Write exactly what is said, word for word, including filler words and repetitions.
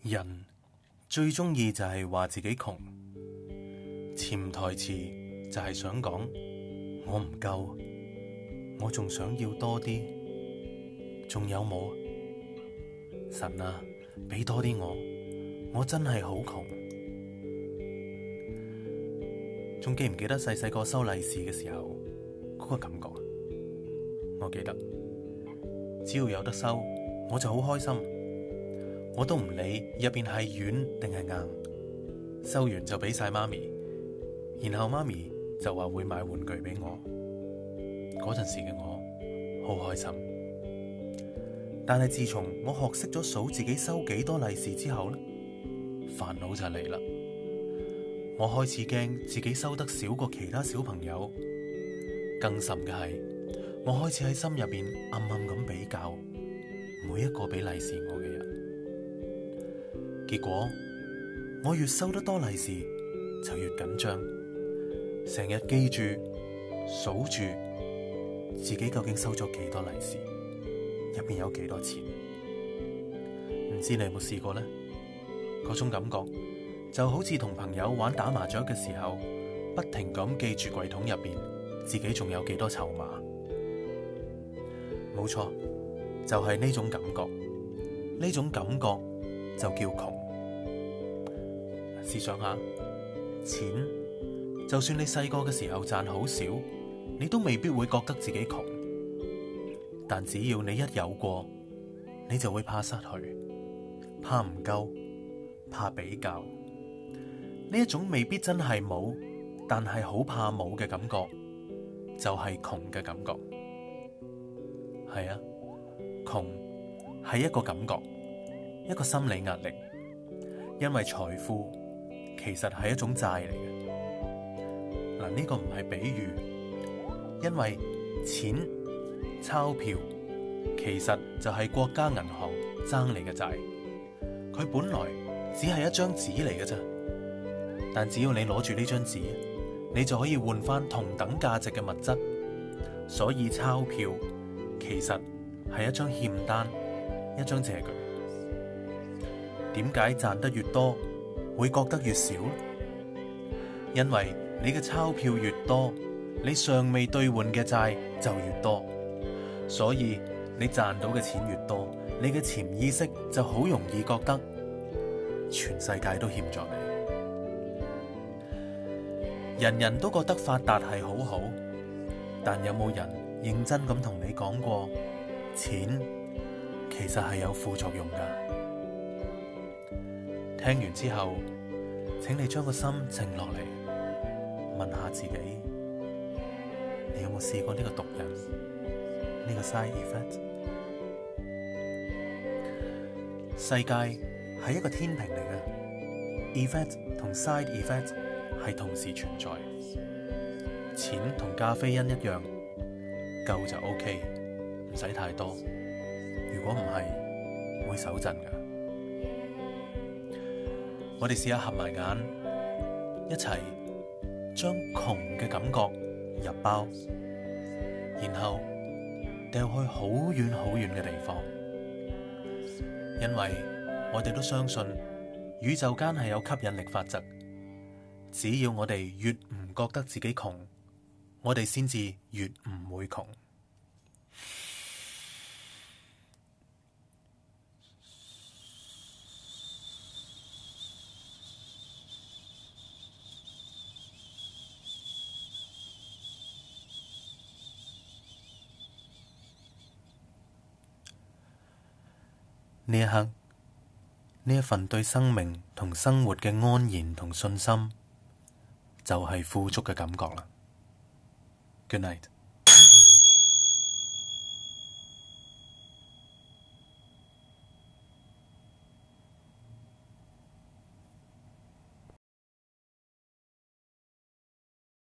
人最中意就係話自己窮，潛台詞就係想講我唔夠，我仲想要多啲，仲有冇？神啊，俾多啲我，我真係好窮。仲記唔記得細細個收利是嘅時候嗰個感覺？我記得，只要有得收，我就好開心。我都唔理入邊係軟定係硬，收完就俾晒媽咪，然後媽咪就話會買玩具俾我。嗰陣時嘅我好開心。但係自從我學識咗數自己收幾多利是之後呢，煩惱就嚟啦。我開始驚自己收得少過其他小朋友，更甚嘅係我開始喺心入邊暗暗咁比較每一個俾利是我嘅人。結果我越收得多利是就越緊張，成日記住數住自己究竟收咗幾多利是，入邊有幾多錢。唔知你有冇試過呢？嗰種感覺就好似同朋友玩打麻雀嘅時候，不停咁記住櫃桶入邊自己仲有幾多籌碼。冇錯，就係呢種感覺，呢種感覺就叫窮。試想下，錢就算你細個嘅時候賺好少，你都未必會覺得自己窮。但只要你一有過，你就會怕失去，怕唔夠，怕比較。呢一種未必真係冇，但係好怕冇嘅感覺，就係窮嘅感覺。係啊，窮係一個感覺，一個心理壓力，因為財富其實係一種債嚟嘅。嗱，呢個唔係比喻，因為錢、鈔票其實就係國家銀行爭你嘅債，佢本來只係一張紙嚟嘅啫。但只要你攞住呢張紙，你就可以換翻同等價值嘅物質。所以鈔票其實係一張欠單，一張借據。點解賺得越多會覺得越少？因為你嘅鈔票越多，你尚未兌換嘅債就越多，所以你賺到嘅錢越多，你嘅潛意識就好容易覺得全世界都欠咗你。人人都覺得發達係好好，但有冇人認真咁同你講過，錢其實係有副作用㗎？聽完之後，請你將個心靜落嚟，問下自己，你有冇試過呢個毒癮，呢個 side effect？ 世界係一個天平嚟嘅 ，effect 同 side effect係同時存在。錢同咖啡因一樣，夠就 OK， 唔使太多。如果唔係，會手震㗎。我哋試下合埋眼，一齊將窮嘅感覺入包，然後掉去好遠好遠嘅地方。因為我哋都相信宇宙間係有吸引力法則。只要我哋越唔覺得自己窮，我哋先至越唔會窮。呢一刻，呢一份對生命同生活嘅安然同信心，就係富足嘅感覺啦。Good night。